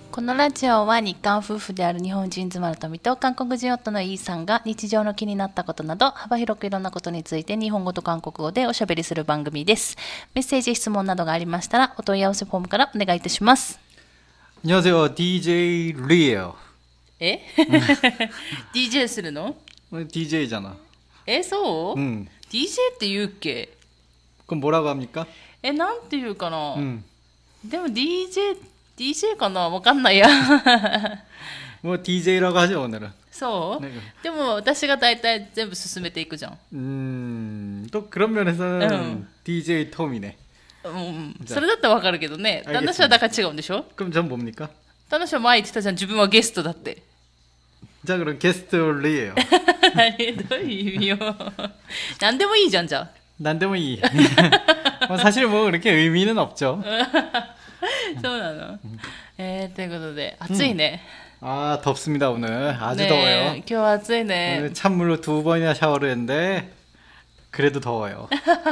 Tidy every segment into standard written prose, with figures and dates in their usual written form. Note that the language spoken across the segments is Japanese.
このラジオは日韓夫婦である日本人妻の富と韓国人夫のイーさんが日常の気になったことなど幅広くいろんなことについて日本語と韓国語でおしゃべりする番組です。メッセージ、質問などがありましたらお問い合わせフォームからお願いいたします。 안녕하세요. DJ 리에요. えDJ するの？ DJ잖아. そう？ 응. DJ って言うっけ？ 그럼 뭐라고 합니까? なんて言うかな、でも DJかな、わかんないや。 뭐 DJ라고 하죠 오늘은. そう？ 네. でも私が大体全部進めていくじゃん。 또 그런 면에서는 DJ 톰이네. それだったらわかるけどね。旦那氏はだから違うんでしょ？ 그럼 전 뭡니까? 旦那氏は前言ってたじゃん、自分はゲストだって。 자 그럼 게스트 리에요. どういう意味よ。何でもいいじゃん、じゃあ。 난데모 이. 사실 뭐 그렇게 의미는 없죠. そうなの。ということで暑いね。 아 덥습니다 오늘. 아주 ね 더워요. 今日は暑いね。 오늘 찬물로 2번이나 샤워를 했는데 그래도 더워요.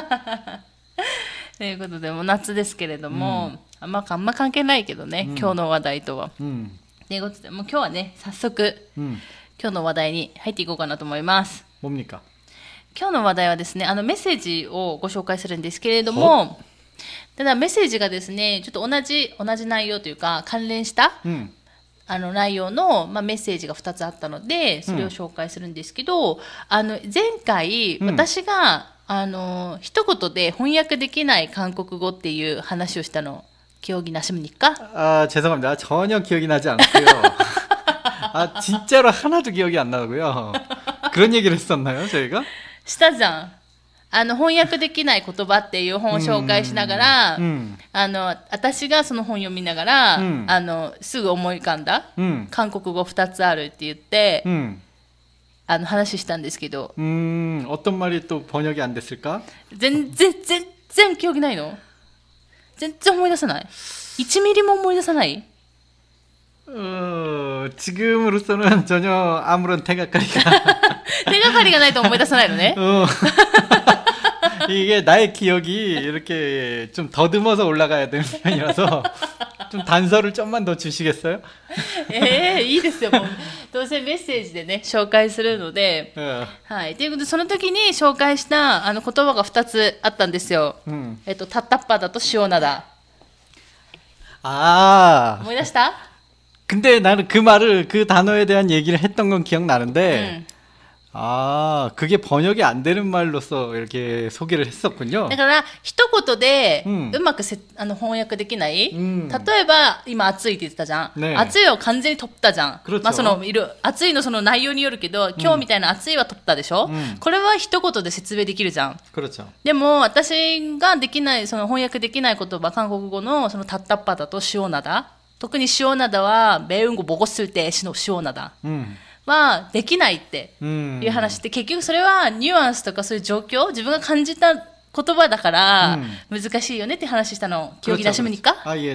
ということでもう夏ですけれども、あんま関係ないけどね、今日の話題とは。ということでもう今日はね早速、今日の話題に入っていこうかなと思います。 뭡니까? 今日の話題はですね、メッセージをご紹介するんですけれども、ただメッセージがですね、ちょっと同じ内容というか関連した、内容の、メッセージが2つあったので、それを紹介するんですけど、前回、私が一言で翻訳できない韓国語っていう話をしたの、기억이 나십니까? 아 죄송합니다. 전혀 기억이 나지 않고요. 아 진짜로 하나도 기억이 안 나고요. 그런 얘기를 했었나요, 저희가? したじゃん。翻訳できない言葉っていう本を紹介しながら、私がその本読みながら、すぐ思い浮かんだ、韓国語2つあるって言って、話したんですけど、 어떤 말이 또 번역이 안 됐을까? 全然記憶ないの？全然思い出さない？1ミリも思い出さない？ 지금으로서는 전혀 아무런 태가까리가 手がかりがないと思い出さないのね。 이게 나의 기억이 이렇게 좀 더듬어서 올라가야 되는 편이라서 좀 단서를 좀만 더 주시겠어요? いいですよ。もうどうせメッセージでね紹介するので、はい。ということでその時に紹介した言葉が2つあったんですよ。タッタッパだと塩灘。 아. 思い出した？ 근데 나는 그 말을 그 단어에 대한 얘기를 했던 건 기억나는데 아, 그게 번역이 안 되는 말로서 이렇게 소개를 했었군요. だから一言でうまく翻訳できない。例えば今暑いって言ってたじゃん。 暑いを完全に取ったじゃん。 まあその暑いのその内容によるけど、今日みたいな暑いは取ったでしょ。これは一言で説明できるじゃん。 그렇죠. でも私ができないその翻訳できない言葉、韓国語のそのタッタッパだと塩灘。 特に塩灘は매운 거 먹었을 때塩灘はできないっていう話で、結局それはニュアンスとかそういう状況、自分が感じた言葉だから難しいよねって話したの記憶나십니까?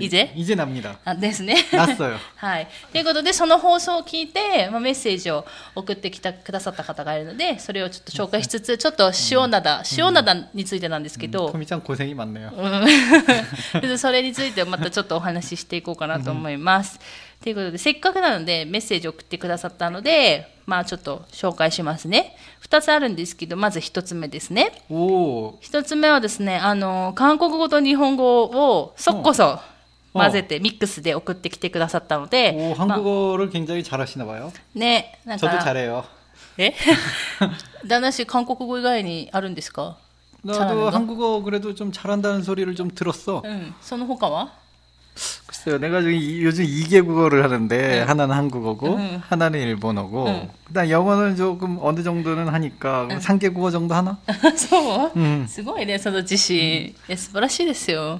이제 납니다. ですね。 났어요. はい。ということでその放送を聞いて、メッセージを送ってくださった方がいるので、それをちょっと紹介しつつ、ちょっと塩灘についてなんですけど、 토미짱 고생이 많네요. それについてまたちょっとお話ししていこうかなと思います。ということでせっかくなのでメッセージを送ってくださったので、ちょっと紹介しますね。2つあるんですけど、まず1つ目ですね。1つ目はですね、韓国語と日本語をそっこそ混ぜてミックスで送ってきてくださったので、 한국어를 굉장히 잘하시나 봐요. ね、なんか 저도 잘해요. 旦那氏韓国語以外にあるんですか？ 나도 한국어 그래도 좀 잘한다는 소리를 좀 들었어. その他は？ 글쎄요, 내가 요즘 2개 국어를 하는데 하나는 한국어고 하나는 일본어고 그다음 영어는 조금 어느 정도는 하니까 3개 국어 정도 하나? そう？すごいね、その自信。素晴らしいですよ。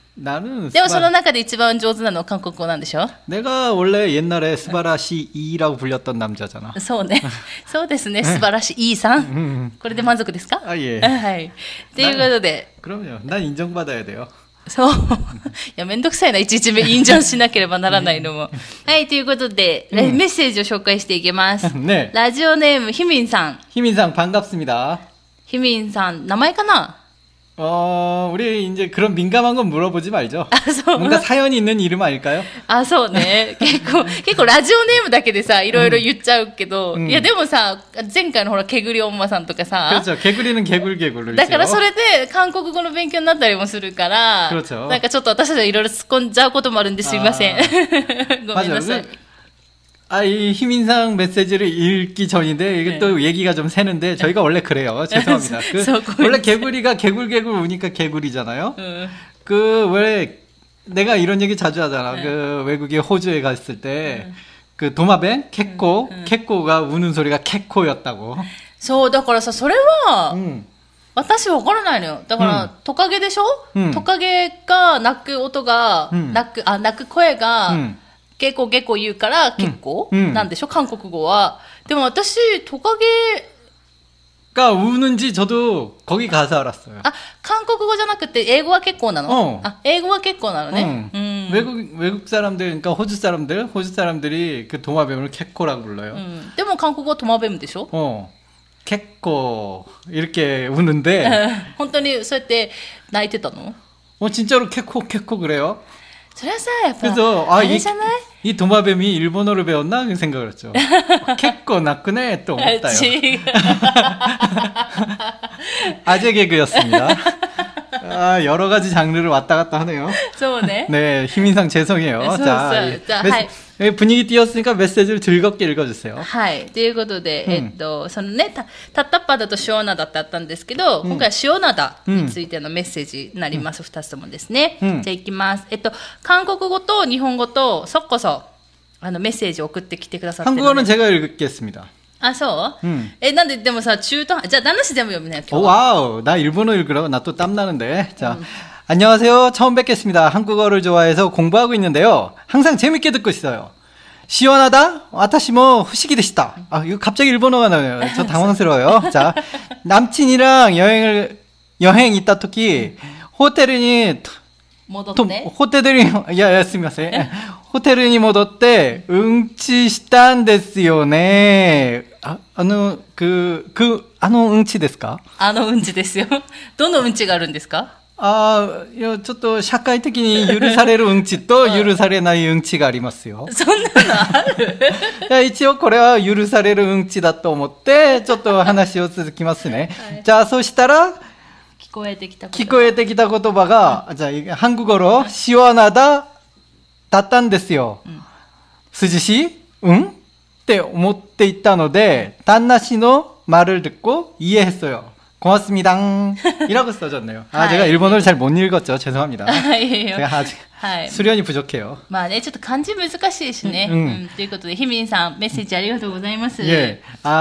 나는 でもその中で一番上手なのは韓国語なんでしょ？ 내가 원래 옛날에 스바라시 이라고 불렸던 남자잖아. そうね。そうですね。素晴らしいイーさん。これで満足ですか？ 아 예. はい。ということで。 그럼요. 난 인정받아야 돼요. そう。いや、めんどくさいな。いちいちインジョンしなければならないのも。はい。ということで、メッセージを紹介していきます。 ね。 ラジオネーム、ヒミンさん。 ヒミンさん、반갑습니다。 ヒミンさん、名前かな？ 우리 이제 그런 민감한 건 물어보지 말죠. あ、そう。 뭔가 사연이 있는 이름 아닐까요? あ、そうね。結構ラジオネームだけでさ、いろいろ言っちゃうけど、いやでもさ、前回のほら、けぐりおんまさんとかさ、 그렇죠. 개구리는 개굴개굴을 だからそれで韓国語の勉強になったりもするから、 그렇죠. なんかちょっと私たちはいろいろ突っ込んじゃうこともあるんですいません。ごめんなさい。 이 희민상 메시지를 읽기 전인데 이게 또 얘기가 좀 새는데 저희가 원래 그래요. 죄송합니다. 원래 개구리가 개굴개굴 우니까 개구리잖아요. 그 왜 내가 이런 얘기 자주 하잖아. 그 외국에 호주에 갔을 때 그 도마뱀 캐코가 우는 소리가 캐코였다고. そうだからさ、それは、私わからないのよ。だから、トカゲでしょ、トカゲが鳴く音が、鳴く声が、ゲコゲコ言うから結構、なんでしょ韓国語は。でも私、トカゲ 가 우는지 저도 거기 가서 알았어요. あ、韓国語じゃなくて英語は結構なの？あ、英語は結構なのね。 외국 사람들, 그러니까 호주 사람들이 그 도마뱀을 캐코라고 불러요. でも韓国語はトマベムでしょ？ 캐코 이렇게 우는데 本当にそうやって泣いてたの？ 진짜로 캐코 그래요. それはさ、やっぱ 그래서 あれじゃない？ 이 도마뱀이 일본어를 배웠나 그 생각을 했죠. 캐코 나크네 또思ったよ. 아재 개그였습니다. 여러 가지 장르를 왔다 갔다 하네요. そうね。 네, 희민상 죄송해요. 자, 자, 분위기 띄웠으니까 메시지를 즐겁게 읽어주세요. はい。ということで、そのね、タッタッパダと塩灘ってあったんですけど、今回は塩灘についてのメッセージになります。二つともですね。じゃあ行きます。韓国語と日本語と、そっこそ、メッセージを送ってきてくださってるので。 한국어는 제가 읽겠습니다. あ、そう？なんで、でもさ、じゃあ、旦那氏全部読むね、今日。 와우, 나 일본어 읽으라고 나 또 땀나는데. 자, 안녕하세요. 처음 뵙겠습니다. 한국어를 좋아해서 공부하고 있는데요. 항상 재밌게 듣고 있어요. 시원하다? 와타시모 후시기 되시다. 아, 이거 갑자기 일본어가 나와요. 저 당황스러워요. 자, 남친이랑 여행 있다 토끼, 호텔이, 戻って。 호텔이, 스미마세. 호텔이 戻って 응치したんですよね. 응치 ですか? うんちですよ。どのうんちがあるんですか? ちょっと社会的に許されるうんちと許されないうんちがありますよ。 そんなのある？ いや、一応これは許されるうんちだと思って、ちょっと話を続きますね。じゃあ、そしたら、聞こえてきた言葉が、じゃあ、한국어로 시원하다だったんですよ。涼しい？って思っていたので、旦那氏の말을 듣고 이해했어요. 고맙습니다. 이라고 써졌네요. 제가 일본어를 잘 못 읽었죠. 죄송합니다. 제가 아직 수련이 부족해요. まあね、ちょっと漢字難しいしね。ということで、ひみんさん、メッセージありがとうございます。 예.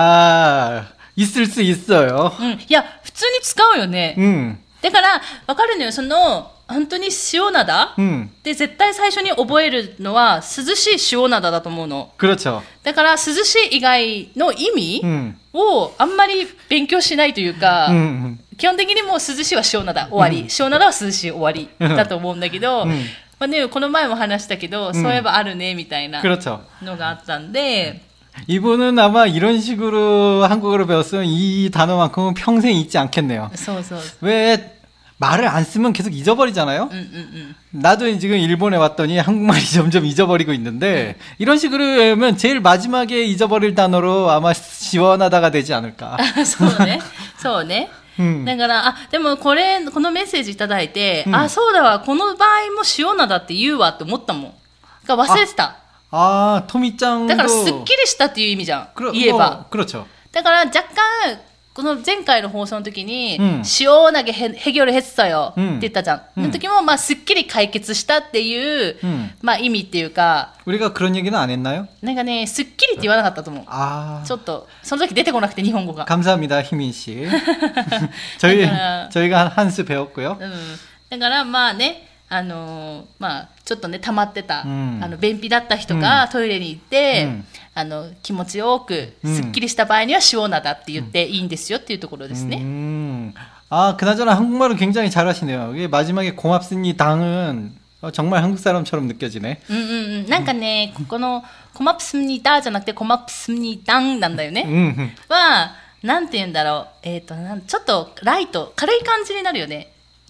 있을 수 있어요. いや、普通に使うよね。だから、わかるのよ。本当に塩灘で絶対最初に覚えるのは涼しい塩灘だと思うの。 그렇죠. だから涼しい以外の意味をあんまり勉強しないというか、基本的にもう涼しいは塩灘終わり、塩灘は涼しい終わりだと思うんだけど、まあね、この前も話したけど、そういえばあるねみたいなのがあったんで、 이분은 아마 이런 식으로 한국어를 배웠으면 이 단어만큼은 평생 잊지 않겠네요. 왜 말을 안 쓰면 계속 잊어버리잖아요. 나도 지금 일본에 왔더니 한국말이 점점 잊어버리고 있는데 이런 식으로 하면 제일 마지막에 잊어버릴 단어로 아마 시원하다가 되지 않을까. そうね。だから、でもこのメッセージいただいて、そうだわ、この場合も塩灘って言うわって思ったもん。忘れてた。 토미짱도 だからすっきりしたっていう意味じゃん。言えば。 그렇죠. だから若干この前回の放送の時に、塩投げ해결했어요って言ったじゃん。その時もまあすっきり解決したっていう、まあ意味っていうか。 우리가 그런 얘기는 안 했나요? なんかね、すっきりって言わなかったと思う。ちょっとその時出てこなくて日本語が。 감사합니다, 희민 씨. 저희가 한 수 배웠고요. だからまあね。まあちょっとね溜まってた、便秘だった人がトイレに行って、気持ちよくすっきりした場合には塩灘って言っていいんですよっていうところですね。 그나저나 한국말을 굉장히 잘하시네요. 이게 마지막에 고맙습니다는 정말 한국 사람처럼 느껴지네. なんかね、この고맙습니다じゃなくて고맙습니다なんだよね。はなんて言うんだろう。ちょっとライト軽い感じになるよね。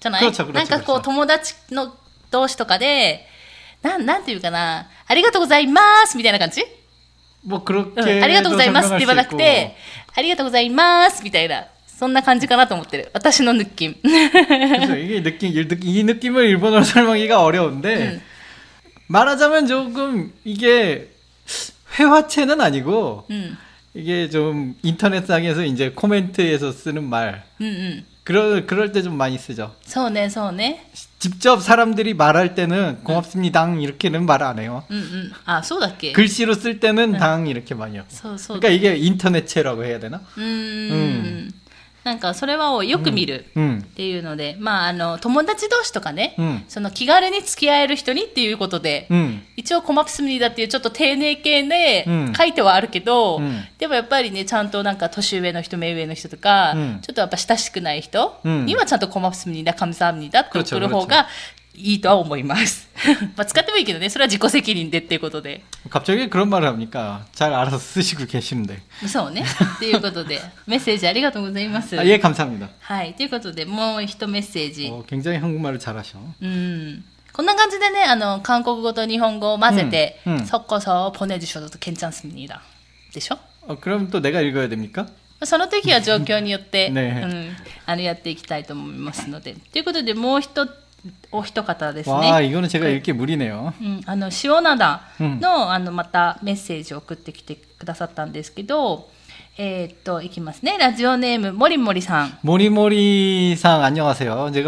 じゃない？なんかこう友達の同士とかで、なんていうかな、ありがとうございますみたいな感じ？ もうありがとうございますって言わなくて、ありがとうございますみたいな、そんな感じかなと思ってる。私の느낌。 그렇죠. 이 느낌을 일본어로 설명하기가 어려운데, 말하자면 조금 이게 회화체는 아니고, 이게 좀 인터넷상에서 이제 코멘트에서 쓰는 말. 그럴 때 좀 많이 쓰죠. そうね、そうね。 직접 사람들이 말할 때는 고맙습니다 이렇게는 말 안 해요. 아, そうだっけ? 글씨로 쓸 때는 당 이렇게 많이 하고. 그러니까 이게 인터넷체라고 해야 되나? なんかそれはよく見るっていうので、まあ友達同士とかね、その気軽に付き合える人にっていうことで、一応コマプスミニだっていうちょっと丁寧系で書いてはあるけど、でもやっぱりね、ちゃんとなんか年上の人、目上の人とか、ちょっとやっぱ親しくない人にはちゃんとコマプスミニだ、カムサミニだって送る方がいいとは思います。まあ使ってもいいけどね、それは自己責任でっていうことで。 갑자기 그런 말을 합니까? 잘 알아서 쓰시고 계시는데. そうね。っていうことで、メッセージありがとうございます。 예, 감사합니다. はい。ということで、もう一メッセージ。 굉장히 한국말을 잘하셔. こんな感じでね、韓国語と日本語を混ぜて、섞어서 보내주셔도 괜찮습니다。でしょ? 그럼 또 내가 읽어야 됩니까? その時は状況によって、やっていきたいと思いますので。ということで、もうお一方ですね。 わあ、이거는 제가 읽기 무리네요。 塩灘の、またメッセージを送ってきてくださったんですけど、いきますね。ラジオネーム、モリモリさん。 モリモリさん、안녕하세요。 제가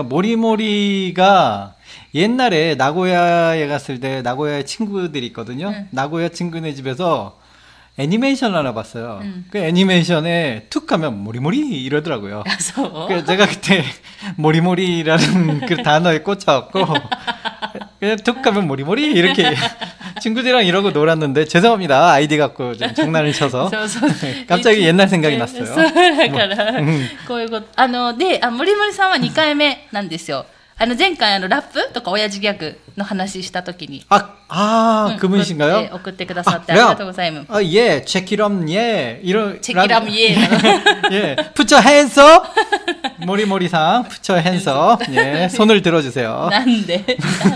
모리모리가 옛날에 나고야에 갔을 때 나고야에 친구들이 있거든요. 나고야 친구네 집에서 애니메이션을 하나 봤어요. 그 애니메이션에 툭 하면 모리모리 이러더라고요. 그래서 제가 그때 모리모리라는 그 단어에 꽂혀갖고 그냥 툭 하면 모리모리 이렇게 친구들이랑 이러고 놀았는데 죄송합니다. 아이디 갖고 좀 장난을 쳐서 갑자기 옛날 생각이 났어요. こういうこと。で、モリモリさんは2回目なんですよ。前回ラップとか親父ギャグの話したときに。 그분이신가요? 送ってくださってありがとうございます。 예, check it up, 예. check it up, 예. 예, put your hands up. 모리모리상, put your hands up. 예, 손을 들어주세요. なんで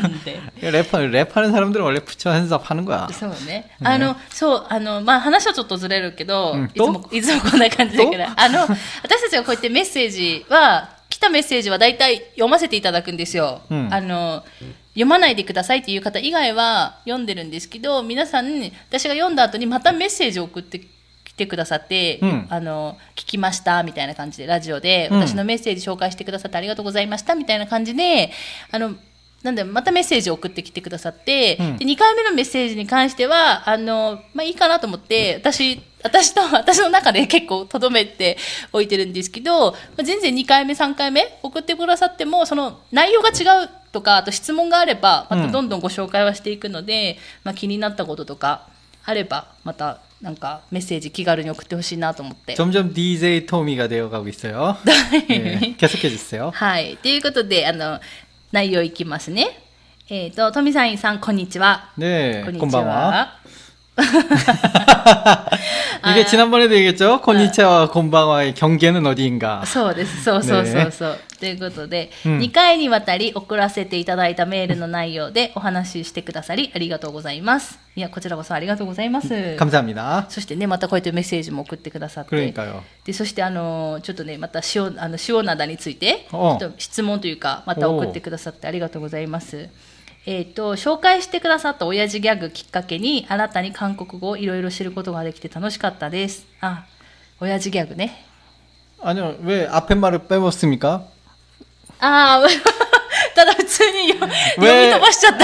랩하는 사람들은 원래 put your hands up 하는 거야. そうね。そう、まあ話はちょっとずれるけど、いつもこんな感じだから。私たちがこうやってメッセージは、来たメッセージはだいたい読ませていただくんですよ。読まないでくださいっていう方以外は読んでるんですけど、皆さん、私が読んだ後にまたメッセージを送ってきてくださって、聞きましたみたいな感じで、ラジオで私のメッセージ紹介してくださってありがとうございましたみたいな感じで、なんでまたメッセージを送ってきてくださって、で2回目のメッセージに関してはまあいいかなと思って、私の中で結構留めておいてるんですけど、全然2回目3回目送ってくださっても、その内容が違うとか、あと質問があればまたどんどんご紹介はしていくので、気になったこととかあればまたなんかメッセージ気軽に送ってほしいなと思って。 점점 DJ 토미가 되어가고 있어요. 네, 계속해 주세요. はい。ということで内容いきますね。トミさんさん、こんにちは。 ねえ、こんばんは。이게 지난번에도 얘기했죠? 곤니치와 곤방와의 경계는 어디인가? そうです。そう。ということで、2回にわたり送らせていただいたメールの内容でお話ししてくださりありがとうございます。いや、こちらこそありがとうございます。 감사합니다。 そしてね、またこうやってメッセージも送ってくださって。 그러니까요。 で、そしてちょっとね、また塩灘について、ちょっと質問というか、また送ってくださってありがとうございます。紹介してくださった親父ギャグきっかけに新たに韓国語をいろいろ知ることができて楽しかったです。親父ギャグね。 아니요, 왜 앞에 말을 빼먹습니까? ただ普通に読み飛ばしちゃった。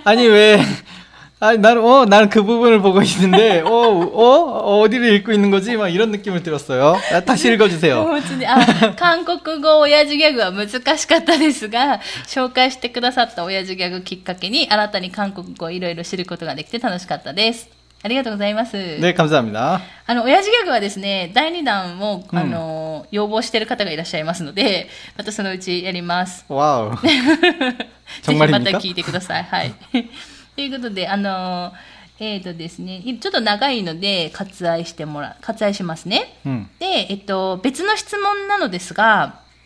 아니 왜? 아니 나는 그 부분을 보고 있는데 어디를 읽고 있는 거지? 막 이런 느낌을 들었어요. 다시 읽어주세요. 韓国語親父ギャグは難しかったですが、紹介してくださった親父ギャグきっかけに新たに韓国語をいろいろ知ることができて楽しかったです。ありがとうございます。 ね、감사합니다。 親父ギャグはですね、第2弾も要望している方がいらっしゃいますので、またそのうちやります。 わお。 ぜひまた聞いてください。はい。ということで、ですね、ちょっと長いので割愛しますね。で、別の質問なのですが、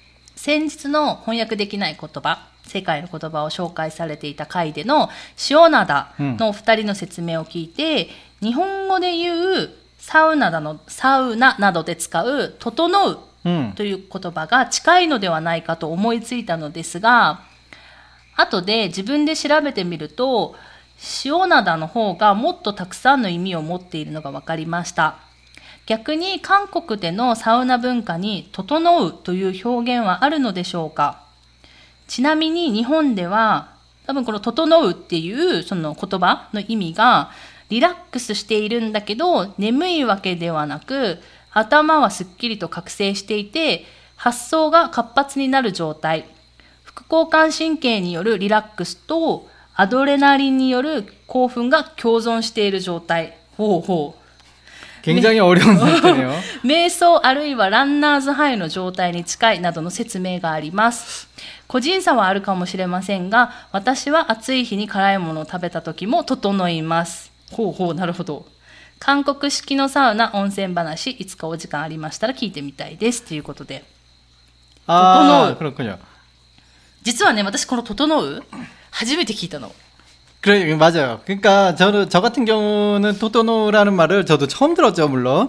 先日の翻訳できない言葉、世界の言葉を紹介されていた回での塩灘のお二人の説明を聞いて、日本語で言うサウナなどで使う整うという言葉が近いのではないかと思いついたのですが、後で自分で調べてみると、塩灘の方がもっとたくさんの意味を持っているのが分かりました。逆に韓国でのサウナ文化に整うという表現はあるのでしょうか。ちなみに日本では多分この整うっていうその言葉の意味がリラックスしているんだけど眠いわけではなく、頭はすっきりと覚醒していて発想が活発になる状態、副交感神経によるリラックスとアドレナリンによる興奮が共存している状態。ほうほう。 굉장히 어려운 상태네요. 瞑想あるいはランナーズハイの状態に近いなどの説明があります。個人差はあるかもしれませんが、私は暑い日に辛いものを食べた時も整います。ほうほう、なるほど。韓国式のサウナ温泉話、いつかお時間ありましたら聞いてみたいですということで。 整う。그렇군요. 実はね、私この整う初めて聞いたの。 그래, 맞아요. 그러니까 저 같은 경우는 토토노라는 말을 저도 처음 들었죠, 물론.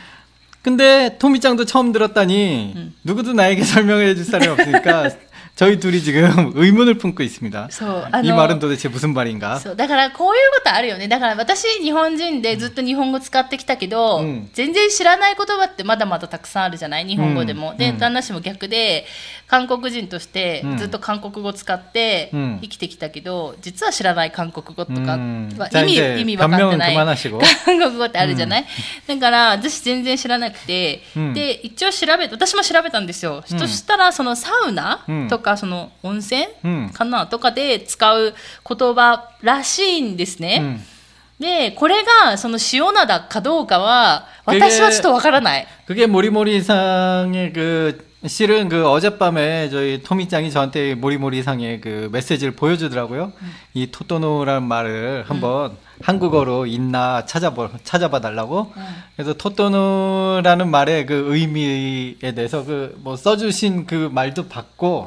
근데 토미짱도 처음 들었다니 누구도 나에게 설명해 줄 사람이 없으니까 저희 둘이 지금 의문을 품고 있습니다. 이 말은 도대체 무슨 말인가? だからこういうことあるよね。だから私日本人でずっと日本語使ってきたけど、全然知らない言葉ってまだまだたくさんあるじゃない、日本語でも。で、旦那氏も逆で韓国人としてずっと韓国語使って生きてきたけど、実は知らない韓国語とかは意味分かってない韓国語ってあるじゃない、だから私全然知らなくて、で一応私も調べたんですよ。そしたらそのサウナとかその温泉かなとかで使う言葉らしいんですね。で、これがその塩灘かどうかは私はちょっとわからない。 그게 모리모리상의 실은 어젯밤에 저희 토미짱이 저한테 모리모리상의 메시지를 보여주더라고요. 이 토토노라는 말을 한번 한국어로 있나 찾아봐 달라고. 그래서 토토노라는 말의 의미에 대해서 써주신 말도 봤고,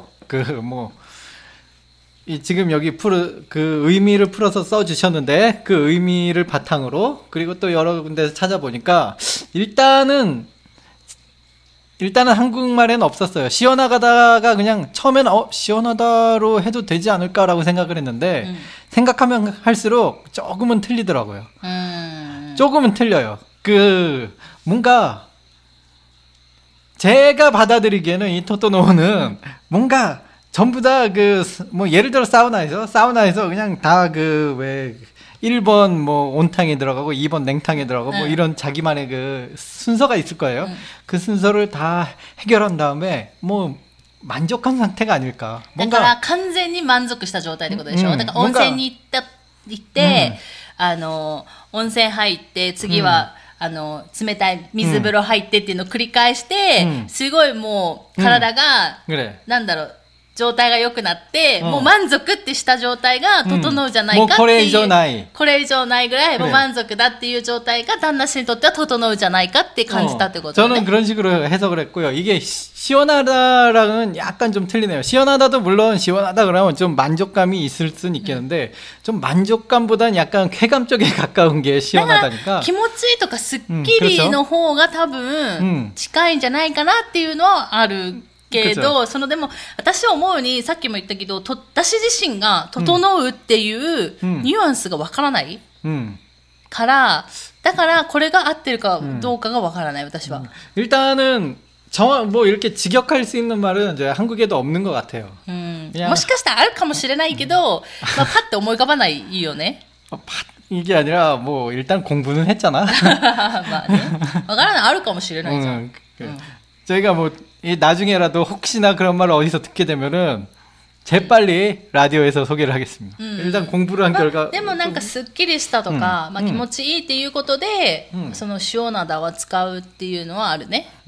지금 여기 의미를 풀어서 써주셨는데, 그 의미를 바탕으로, 그리고 또 여러 군데서 찾아보니까, 일단은 한국말에는 없었어요. 시원하다가 그냥 처음엔 시원하다로 해도 되지 않을까라고 생각을 했는데, 생각하면 할수록 조금은 틀리더라고요. 조금은 틀려요. 뭔가, 제가 받아들이기에는 이 토토노는 뭔가 전부 다 예를 들어 사우나에서 그냥 다 1번 온탕에 들어가고 2번 냉탕에 들어가고 이런 자기만의 순서가 있을 거예요. 그 순서를 다 해결한 다음에 만족한 상태가 아닐까. だから完全に満足した状態ってことでしょ。だから温泉に行って、温泉入って次は、冷たい水風呂入ってっていうのを繰り返して、すごいもう体が、なんだろう、状態が良くなって、もう満足ってした状態が整うじゃないかっていう、 これ以上ないぐらいもう満足だっていう状態が旦那氏にとっては整うじゃないかって感じたってことね。 저는 그런 식으로 해석을 했고요. 이게 시원하다랑은 약간 좀 틀리네요. 시원하다도 물론 시원하다 그러면 좀 만족감이 있을 수는 있겠는데, 좀 만족감보다는 약간 쾌감 쪽에 가까운 게 시원하다니까. 気持ちいいとかすっきりの方が多分近いんじゃないかなっていうのはあるけど、でも私は思うにさっきも言ったけど、私自身が整うっていうニュアンスがわからない、から、だからこれが合ってるかどうかがわからない、私は。 일단은 이렇게 직역할 수 있는 말은 이제 한국에도 없는 것 같아요. もしかしたらあるかもしれないけど、パッて思い浮かばないよね。 이게 아니라 일단 공부는 했잖아. まあね、わからない、あるかもしれないじゃん。 저희가 나중에라도 혹시나 그런 말을 어디서 듣게 되면은 재빨리 라디오에서 소개를 하겠습니다. 일단 공부를 한 결과. でもなんかすっきりしたとか、気持ちいいっていうことで、その塩灘は使うっていうのはあるね。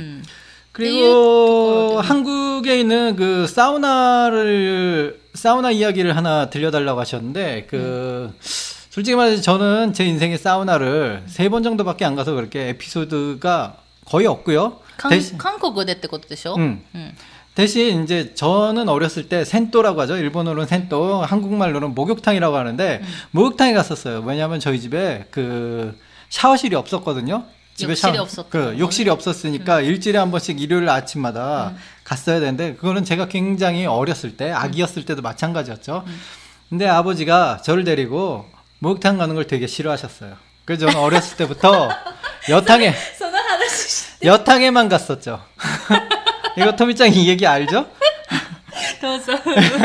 그리고 한국에 있는 사우나 이야기를 하나 들려달라고 하셨는데, 솔직히 말해서 저는 제 인생에 사우나를 3번 정도밖에 안 가서 그렇게 에피소드가 거의 없고요. 韓国でってことでしょ。 대신 이제 저는 어렸을 때 센또라고 하죠. 일본어로는 센또, 한국말로는 목욕탕이라고 하는데 목욕탕에 갔었어요. 왜냐하면 저희 집에 그 샤워실이 없었거든요. 집에 욕실이 없었으니까 일주일에 한 번씩 일요일 아침마다 갔어야 되는데 그거는 제가 굉장히 어렸을 때 아기였을 때도 마찬가지였죠. 근데 아버지가 저를 데리고 목욕탕 가는 걸 되게 싫어하셨어요. 그래서 저는 어렸을 때부터 여탕에만 갔었죠. 이거 토미짱 이 얘기 알죠? どうぞ。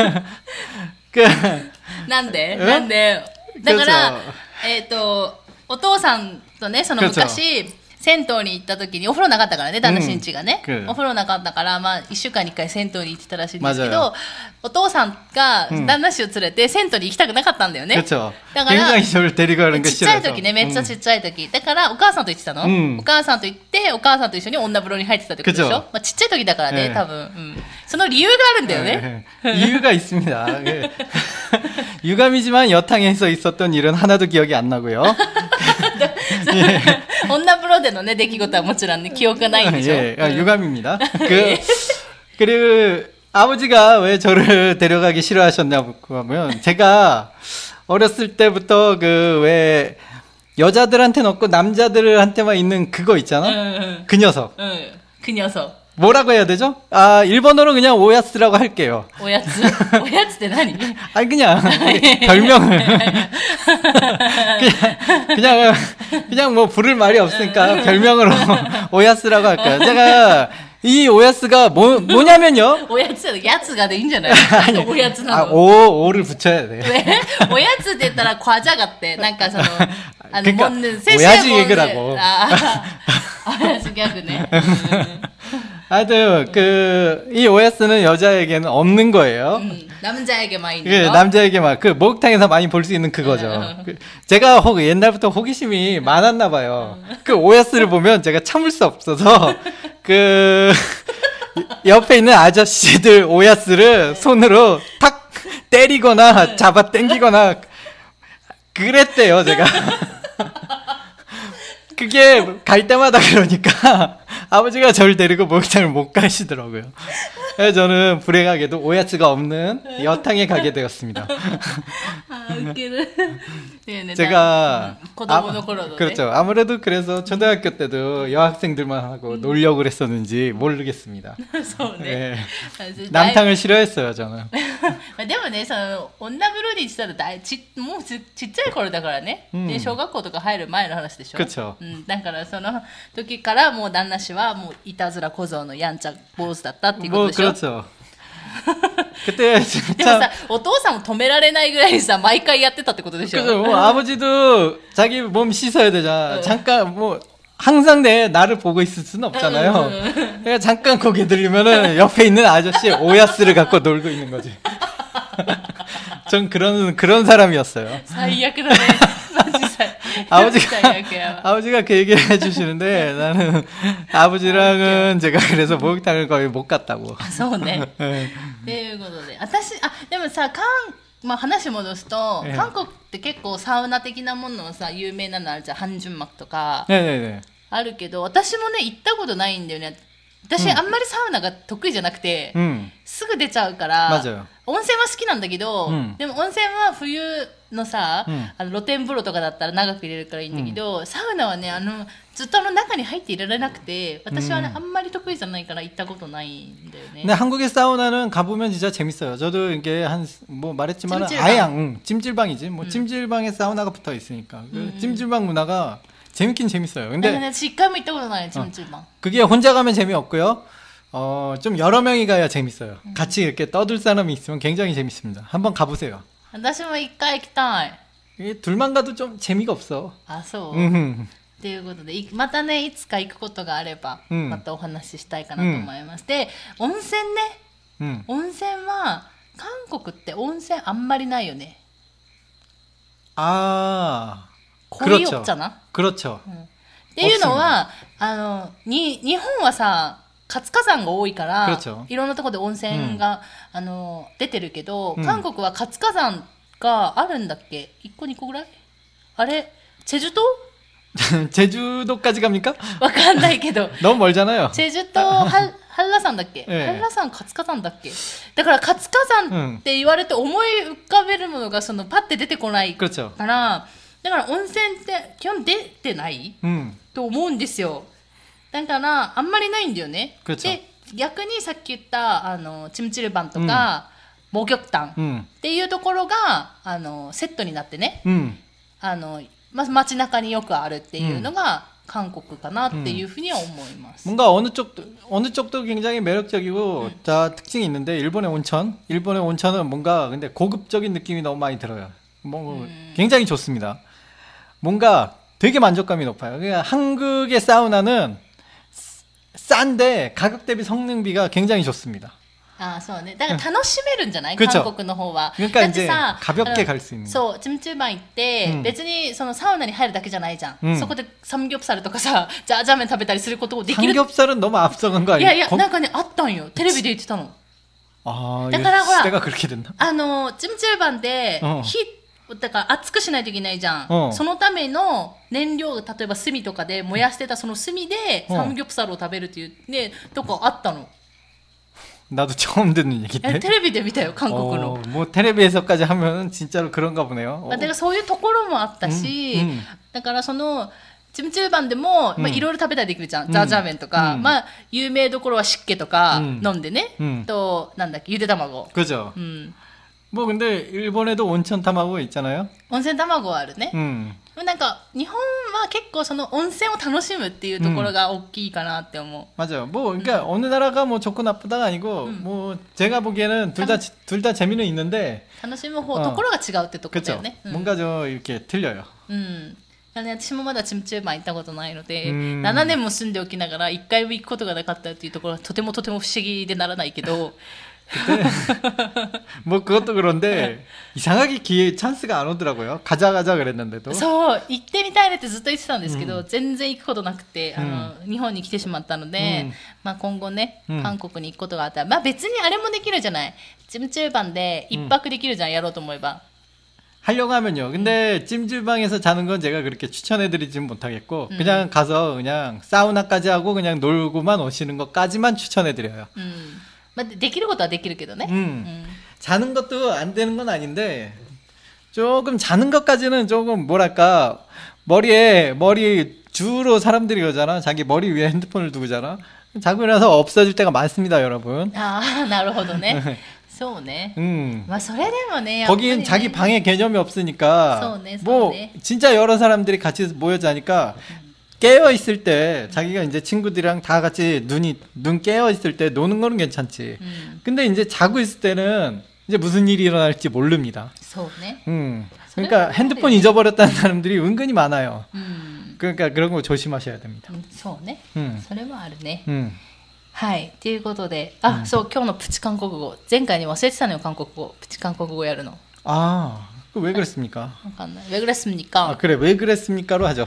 なんでだから、お父さんとね、その昔、銭湯に行った時にお風呂なかったからね、旦那新地がね、お風呂なかったから、まあ1週間に1回銭湯に行ってたらしいんですけど、お父さんが旦那氏を連れて銭湯に行きたくなかったんだよね。だからちっちゃい時ね、めっちゃちっちゃい時だからお母さんと行ってたの、お母さんと行ってお母さんと一緒に女風呂に入ってたってことでしょ。まあちっちゃい時だからね、多分、その理由があるんだよね。 이유가 있습니다. 유감이지만 여탕에서 있었던 일은 하나도 기억이 안 나고요. 女風呂でのね出来事はもちろんね記憶がないんでしょ. 예, 유감입니다. 그리고 아버지가 왜 저를 데려가기 싫어하셨냐고 하면 제가 어렸을 때부터 그 왜 여자들한테는 없고 남자들한테만 있는 그거 있잖아. 그 녀석. 그 녀석. 뭐라고 해야 되죠? 아, 일본어로 그냥 오야츠라고 할게요. 오야츠? 오야츠って何? 아니, 그냥, 별명을. 그냥 뭐 부를 말이 없으니까 별명으로 오야츠라고 할까요? 제가 이 오야츠가 뭐냐면요. 오야츠, 야츠가 でいいんじゃない? 오야츠なの. 오를 붙여야 돼. 왜? 오야츠 って言ったら과자 같대. なんかその, 그러니까 먹는 오야지 얘기라고. 오야츠 격이네. 하여튼 이 OS는 여자에게는 없는 거예요. 남자에게만 있는 거? 남자에게만. 그 목욕탕에서 많이 볼 수 있는 그거죠. 제가 옛날부터 호기심이 많았나 봐요. 그 OS를 보면 제가 참을 수 없어서 그 옆에 있는 아저씨들 OS를 손으로 탁 때리거나 잡아 당기거나 그랬대요, 제가. 그게 갈 때마다 그러니까 아버지가 저를 데리고 목욕탕을 못 가시더라고요. 그래서 저는 불행하게도 오야츠가 없는 여탕에 가게 되었습니다. 제가 그렇죠. 아무래도 그래서 초등학교 때도 여학생들만 하고 놀려고 그랬었는지 모르겠습니다. 네. 남탕을 싫어했어요, 저는. でもね、その女風呂にしたらもうちっちゃい頃だからね。で小学校とか入る前の話でしょ。 그렇죠. だからその時からもう旦那氏はもういたずら小僧のやんちゃ坊主だったっていうことでしょ。 그렇죠. 그때 진짜. でもさ、お父さんも止められないぐらいさ、毎回やってたってことでしょ。 그죠. 뭐 아버지도 자기 몸 씻어야 되잖아. 잠깐 뭐 항상 나를 보고 있을 수는 없잖아요. 그러니까 잠깐 고개 들리면은 옆에 있는 아저씨 오야스를 갖고 놀고 있는 거지. 전 그런 사람이었어요. 最悪だね。マジ 아버지가 그 얘기를 해주시는데 나는 아버지랑은 제가 그래서 목욕탕을 거의 못 갔다고. そうね。っていうことで、でもさ、まあ話戻すと、韓国って結構サウナ的なものをさ、有名なのあるじゃん、半純幕とかあるけど、私もね行ったことないんだよね。私あんまりサウナが得意じゃなくて、すぐ出ちゃうから、温泉は好きなんだけど、でも温泉は冬のさ、露天風呂とかだったら長く入れるからいいんだけど、サウナはねずっと中に入っていられなくて、私はねあんまり得意じゃないから行ったことないんだよね。 근데 한국의 사우나는 가보면 진짜 재밌어요. 저도 이게 뭐 말했지만 아예 찜질방이지. 뭐 찜질방에 사우나가 붙어 있으니까 그 찜질방 문화가 재밌긴 재밌어요. 근데 그게 혼자 가면 재미없고요. 좀 여러 명이 가야 재밌어요. 같이 이렇게 떠들 사람이 있으면 굉장히 재밌습니다. 한번 가보세요. 私も一回行きたい。 둘만 가도 좀 재미가 없어. あ、そう。ということで、またねいつか行くことがあれば、またお話ししたいかなと思います。で、温泉ね。温泉は韓国って温泉あんまりないよね。 거의 없잖아. 그렇죠. っていうのは日本はさ活火山が多いから、いろんなところで温泉が出てるけど、韓国は活火山があるんだっけ？1個2個ぐらい？あれ제주도? 제주도까지 갑니까? わかんないけど 너무 멀잖아요. 제주도 한라산だっけ、한라산活火山だっけ。だから活火山って言われて思い浮かべるものがそのパッて出てこないから、だから温泉って基本出てない、と思うんですよ。だからあんまりないんだよね。で逆にさっき言ったチムチルバンとか、목욕탕っていうところがセットになってね、街中によくあるっていうのが韓国かなっていうふうには思います。 뭔가 어느 쪽도 굉장히 매력적이고 자 특징이 있는데 일본의 온천은 뭔가 근데 고급적인 느낌이 너무 많이 들어요. 뭐 굉장히 좋습니다. 뭔가 되게 만족감이 높아요. 그러니까 한국의 사우나는 싼데 가격 대비 성능비가 굉장히 좋습니다. そうね。だから楽しめるんじゃない、韓国の方は。 だってさ、가볍게 갈 수 있는。 そう、チムチューバン行って、別にそのサウナに入るだけじゃないじゃん。そこでサムギョプサルとかさ、ジャーメン食べたりすることをできる。 サムギョプサル너무앞서간거아니야？いやいや、なんかね、あったんよ。テレビで言ってたの。だからほら、チムチューバンで、だから熱くしないといけないじゃん。そのための燃料、例えば炭とかで燃やしてたその炭でサムギョプサルを食べるっていうね、とかあったの。 나도 처음 듣는 얘기인데. 텔레비で見たよ, 한국으로. 뭐 텔레비에서까지 하면 진짜로 그런가 보네요. だからそういうところもあったし、だからそのチムチューバンでもいろいろ食べたりできるじゃん。ジャージャー麺とか、まあ有名どころは湿気とか飲んでね。となんだっけ、ゆで卵。 그죠. 뭐 근데 일본에도 온천卵 있잖아요. 温泉卵はあるね。なんか日本は結構その温泉を楽しむっていうところが大きいかなって思う。 맞아요. 뭐 그러니까 어느 나라가 뭐 좋고 나쁘다가 아니고 뭐 제가 보기에는 둘 다 재미는 있는데 楽しむ方ところが違うってところだよね。 뭔가 좀 이렇게 틀려요. 私もまだチムチューバン行ったことないので、7年も住んでおきながら1回も行くことがなかったっていうところはとても不思議でならないけど。 뭐 그것도 그런데 이상하게 기회 찬스가 안 오더라고요. 가자 그랬는데도. そう、行ってみたいねってずっと言ってたんですけど、全然行くことなくて、日本に来てしまったので、まあ今後ね、韓国に行くことがあったら、まあ別にあれもできるじゃない。チムチューバンで一泊できるじゃん、やろうと思えば。 하려고 하면요. 근데 찜질방에서 자는 건 제가 그렇게 추천해드리진 못하겠고 그냥 가서 그냥 사우나까지 하고 그냥 놀고만 오시는 것까지만 추천해드려요. できることはできるけどね. 자는 것도 안 되는 건 아닌데 조금 자는 것까지는 조금 뭐랄까 머리 주로 사람들이 그러잖아. 자기 머리 위에 핸드폰을 두고잖아. 자고 일어나서 없어질 때가 많습니다, 여러분. 아, なるほどね. そうね. まあそれでもね, 거긴 자기 방에 개념이 없으니까 뭐 진짜 여러 사람들이 같이 모여 자니까 깨어 있을 때 자기가 이제 친구들이랑 다 같이 눈 깨어 있을 때 노는 거는 괜찮지. 근데 이제 자고 있을 때는 이제 무슨 일이 일어날지 모릅니다. 그러니까 핸드폰 잊어버렸다는 사람들이 은근히 많아요. 그러니까 그런 거 조심하셔야 됩니다. そうね. それもあるね. はい。ということで、あ、そう、今日のプチ韓国語。前回に忘れてたのよ、韓国語。プチ韓国語やるの。 아, 왜 그랬습니까? 왜 그랬습니까? 아, 그래, 왜 그랬습니까로 하죠.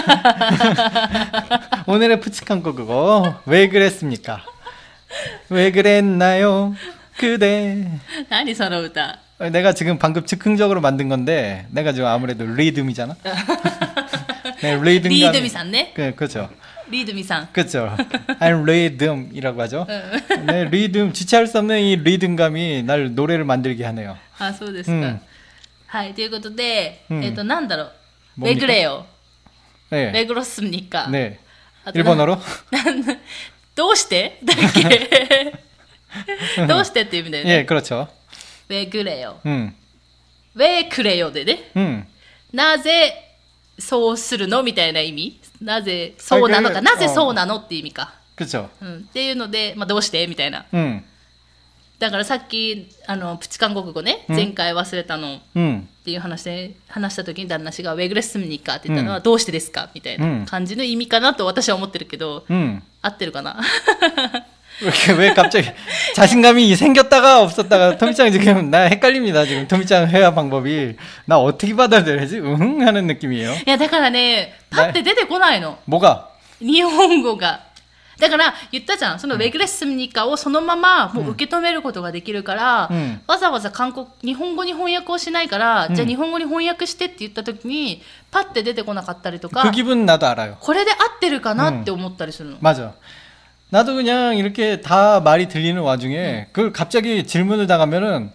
오늘의 프치 한국어, 왜 그랬습니까? 왜 그랬나요? 그대. 何その歌? 내가 지금 방금 즉흥적으로 만든 건데, 내가 지금 아무래도 리듬이잖아. 네, 리듬이산 네? 그렇죠. 리듬이상. 그렇죠. I'm 리듬이라고 하죠. 네, 리듬, 주체할 수 없는 이 리듬감이 날 노래를 만들게 하네요. 아, そうですか. はい、ということで、なんだろう。왜 그래요? 네. 왜 그렇습니까? 네. 일본어로? どうしてだっけどうしてっていう意味だよね。 예, 그렇죠. 왜 그래요? 왜 그래요? でね。なぜそうするのみたいな意味なぜそうなのか、なぜそうなのって意味か。 그렇죠. っていうので、まあ、どうしてみたいな。だからさっきプチ韓国語ね、前回忘れたのっていう話した時に旦那氏が「ウェグレスムニカ」って言ったのは「どうしてですか?」みたいな感じの意味かなと私は思ってるけど、合ってるかな 왜 갑자기 자신감이 생겼다가 없었다가 토미짱 지금 나 헷갈립니다. 지금 토미짱 회화 방법이 나 어떻게 받아들여야지? 응? 하는 느낌이에요. いやだからねパッて出てこないの。 뭐가? 日本語が。だから言ったじゃん、そのウェグレッスムニカをそのままもう受け止めることができるから、わざわざ日本語に翻訳をしないから、じゃあ日本語に翻訳してって言った時にパッて出てこなかったりとか、 그 기분 나도 알아요. これで合ってるかなって思ったりするの。 맞아. 나도 그냥 이렇게 다 말이 들리는 와중에 그걸 갑자기 질문을 당하면은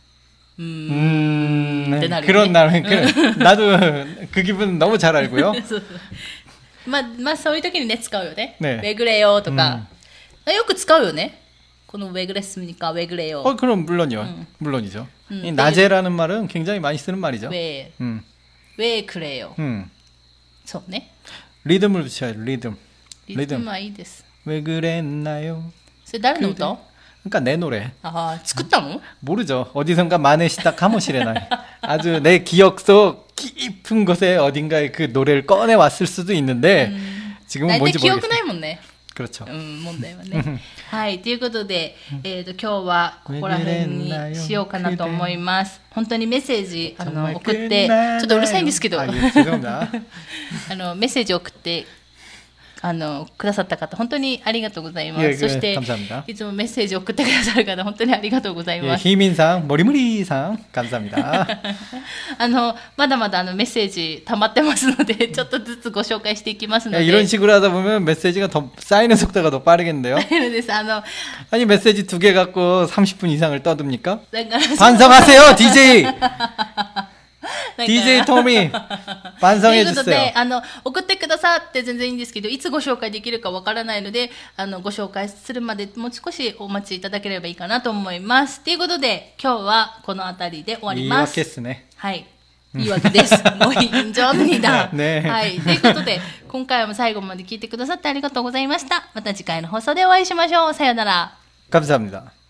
그런 나는 나도 그 기분 너무 잘 알고요. まあそういう時にね使うよね。 ねウェグレよとか、よく使うよね。このウェグレスニカウェグレよ。 그럼 물론요. 물론이죠. 이 낮에라는 말은 굉장히 많이 쓰는 말이죠. 왜 그래요。 そうね。 리듬을 붙여야 돼. 리듬. リズムはいいです。 왜 그랬나요? それ誰の歌？ 그러니까 내 노래. 아, 作ったの? 모르죠. 어디선가 만회시다 가모시레나. 아주 내 기억 속 깊은 곳에 어딘가에 그 노래를 꺼내 왔을 수도 있는데 지금은 뭔지 모르겠어요. 記憶ないもんね。 그렇죠. 問題はね。はい、ということで、今日はここら辺にしようかなと思います。本当にメッセージ送って、ちょっとうるさいんですけど、メッセージ送ってくださった方本当にありがとうございます。そしていつもメッセージを送ってくださる方本当にありがとうございます。 희민상、머리무리상 감사합니다。 まだまだメッセージ溜まってますのでちょっとずつご紹介していきますので。 이런 식으로 하다 보면 메시지가 더 쌓이는 속도가 더 빠르겠는데요. 아니 메시지 2개 갖고 30분 이상을 떠듭니까? 반성하세요, DJ. DJ トミー반성해 주세요。 ということで送ってくださって全然いいんですけどいつご紹介できるかわからないのでご紹介するまでもう少しお待ちいただければいいかなと思います。ということで今日はこの辺りで終わります。 言い訳ですね。 はい、言い訳です。もういいんじゃんだ。 ね。 はい、ということで今回も最後まで聞いてくださってありがとうございました。また次回の放送でお会いしましょう。さようなら。 감사합니다。